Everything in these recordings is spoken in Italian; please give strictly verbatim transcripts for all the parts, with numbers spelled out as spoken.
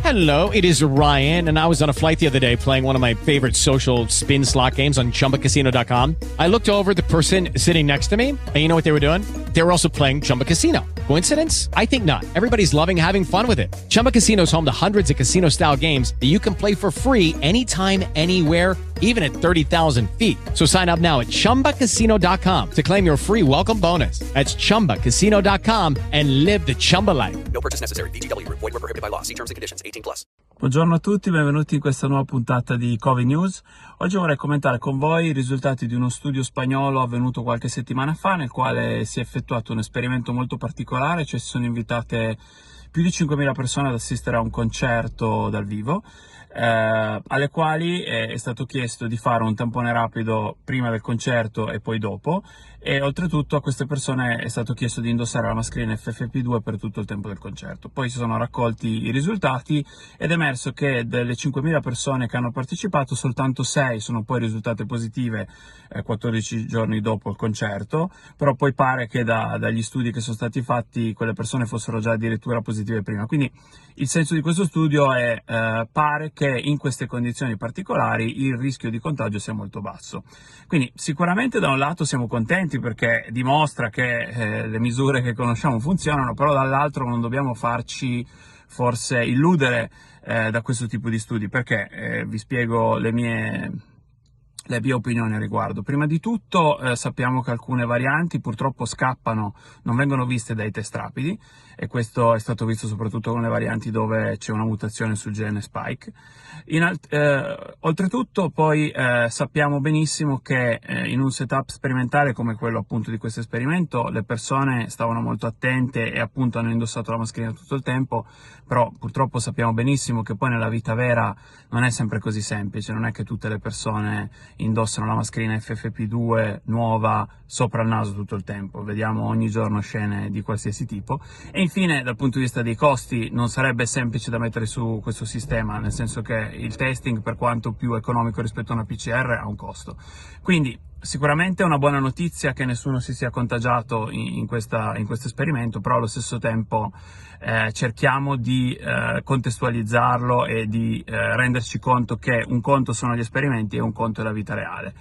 Hello, it is Ryan, and I was on a flight the other day playing one of my favorite social spin slot games on Chumba Casino dot com. I looked over at the person sitting next to me, and you know what they were doing? They were also playing Chumba Casino. Coincidence? I think not. Everybody's loving having fun with it. Chumba Casino is home to hundreds of casino-style games that you can play for free anytime, anywhere, even at thirty thousand feet. So sign up now at Chumba Casino dot com to claim your free welcome bonus. That's Chumba Casino dot com and live the Chumba life. No purchase necessary. V G W. Void where prohibited by law. See terms and conditions. eighteen plus. Buongiorno a tutti, benvenuti in questa nuova puntata di Covid News. Oggi vorrei commentare con voi i risultati di uno studio spagnolo avvenuto qualche settimana fa, nel quale si è effettuato un esperimento molto particolare, cioè si sono invitate più di cinquemila persone ad assistere a un concerto dal vivo, eh, alle quali è stato chiesto di fare un tampone rapido prima del concerto e poi dopo, e oltretutto a queste persone è stato chiesto di indossare la mascherina F F P due per tutto il tempo del concerto. Poi si sono raccolti i risultati ed è emerso che delle cinquemila persone che hanno partecipato soltanto sei sono poi risultate positive eh, quattordici giorni dopo il concerto, però poi pare che da, dagli studi che sono stati fatti quelle persone fossero già addirittura positive prima. Quindi il senso di questo studio è eh, pare che in queste condizioni particolari il rischio di contagio sia molto basso. Quindi sicuramente da un lato siamo contenti perché dimostra che eh, le misure che conosciamo funzionano, però dall'altro non dobbiamo farci forse illudere eh, da questo tipo di studi, perché eh, vi spiego le mie le mie opinioni a riguardo. Prima di tutto eh, sappiamo che alcune varianti purtroppo scappano, non vengono viste dai test rapidi, e questo è stato visto soprattutto con le varianti dove c'è una mutazione sul gene spike. In alt- eh, oltretutto poi eh, sappiamo benissimo che eh, in un setup sperimentale come quello appunto di questo esperimento le persone stavano molto attente e appunto hanno indossato la mascherina tutto il tempo, però purtroppo sappiamo benissimo che poi nella vita vera non è sempre così semplice, non è che tutte le persone indossano la mascherina F F P due nuova sopra il naso tutto il tempo. Vediamo ogni giorno scene di qualsiasi tipo. E infine, dal punto di vista dei costi, non sarebbe semplice da mettere su questo sistema, nel senso che il testing, per quanto più economico rispetto a una P C R, ha un costo. Quindi sicuramente è una buona notizia che nessuno si sia contagiato in, in, questa, in questo esperimento, però allo stesso tempo eh, cerchiamo di eh, contestualizzarlo e di eh, renderci conto che un conto sono gli esperimenti e un conto è la vita reale.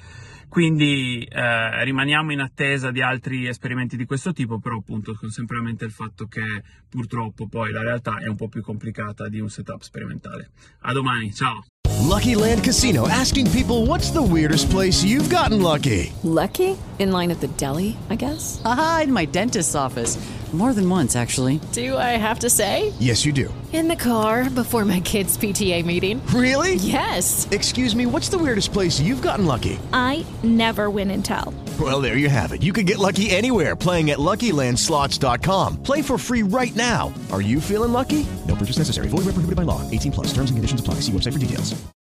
Quindi eh, rimaniamo in attesa di altri esperimenti di questo tipo, però appunto con sempre a mente il fatto che purtroppo poi la realtà è un po' più complicata di un setup sperimentale. A domani, ciao! Lucky Land Casino, asking people, what's the weirdest place you've gotten lucky? Lucky? In line at the deli, I guess? Aha, in my dentist's office. More than once, actually. Do I have to say? Yes, you do. In the car before my kids' P T A meeting. Really? Yes. Excuse me, what's the weirdest place you've gotten lucky? I never win and tell. Well, there you have it. You can get lucky anywhere, playing at Lucky Land Slots dot com. Play for free right now. Are you feeling lucky? No purchase necessary. Void where prohibited by law. eighteen plus. Terms and conditions apply. See website for details.